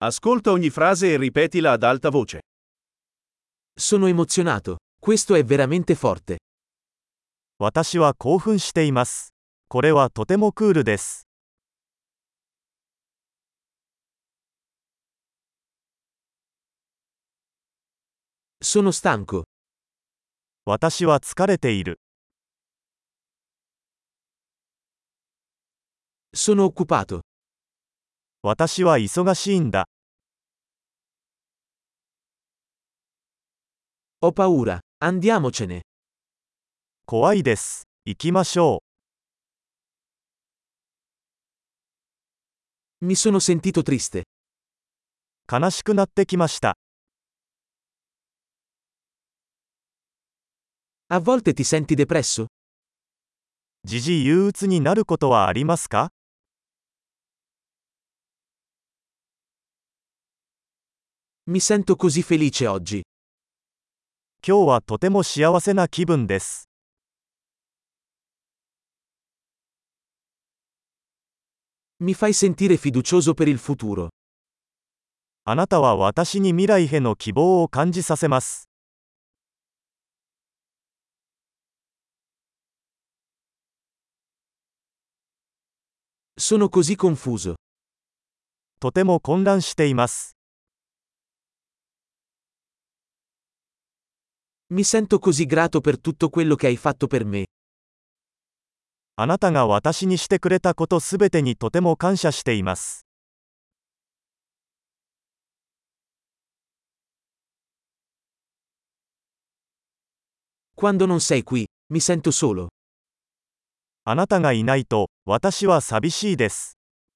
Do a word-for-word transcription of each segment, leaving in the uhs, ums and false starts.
Ascolta ogni frase e ripetila ad alta voce. Sono emozionato. Questo è veramente forte. 私は興奮しています。これはとてもクールです。 Sono stanco. 私は疲れている。 Sono occupato. 私は忙しいんだ。 Ho paura. Andiamocene. 怖いです。行きましょ Mi sono sentito triste. う。悲しくなってきました。 A volte ti senti depresso? 時々憂鬱になることはありますか？ Mi sento così felice oggi. 今日はとても幸せな気分です。 Mi fai sentire fiducioso per il futuro. あなたは私に未来への希望を感じさせます。 Sono così confuso. とても混乱しています。 Mi sento così grato per tutto quello che hai fatto per me. あなたが私にしてくれたことすべてにとても感謝しています。 Quando non sei qui, mi sento solo. あなたがいないと、私は寂しいです。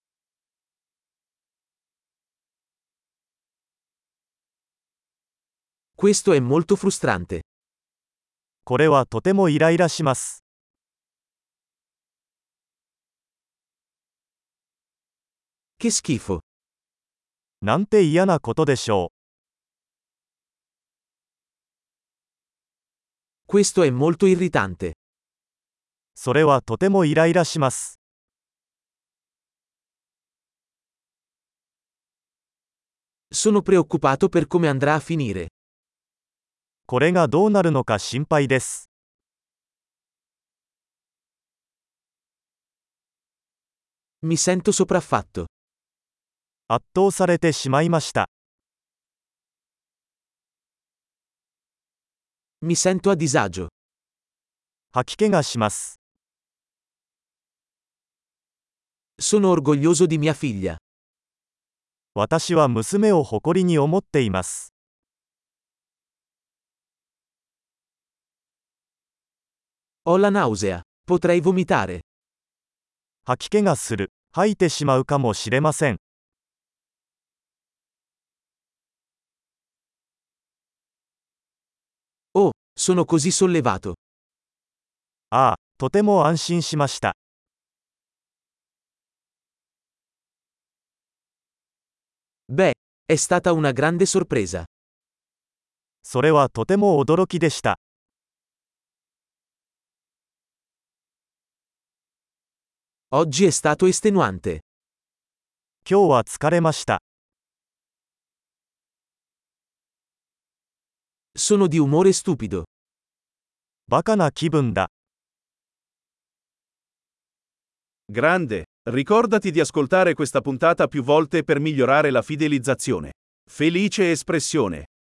Questo è molto frustrante. これはとてもイライラします。 Che schifo. なんて嫌なことでしょ Questo è molto irritante. う。それはとてもイライラします。 Sono preoccupato per come andrà a finire. これがどうなるのか心配です。 Mi sento sopraffatto. 圧倒されてしまいました。 Mi sento a disagio. 吐き気がします。 Sono orgoglioso di mia figlia. 私は娘を誇りに思っています。 Ho la nausea. Potrei vomitare. 吐き気がする。吐いてしまうかもしれません。 Oh, sono così sollevato. ああ、とても安心しました。 Beh, è stata una grande sorpresa. それはとても驚きでした。 Oggi è stato estenuante. 今日は疲れました。 Sono di umore stupido. バカな気分だ。 Grande, ricordati di ascoltare questa puntata più volte per migliorare la fidelizzazione. Felice espressione.